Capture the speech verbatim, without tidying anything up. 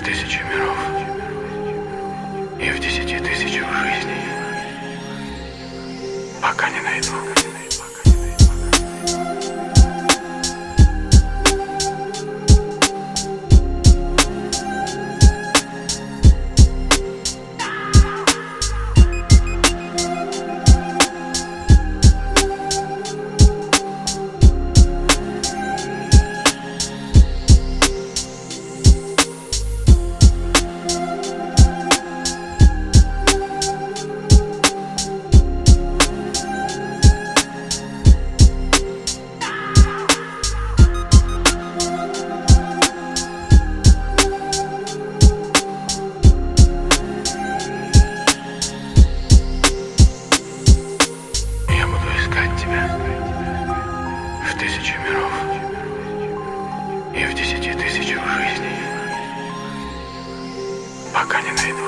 в тысячи миров и в десяти тысячах жизней, пока не найду. В тысячи миров и в десяти тысячах жизней, пока не найду.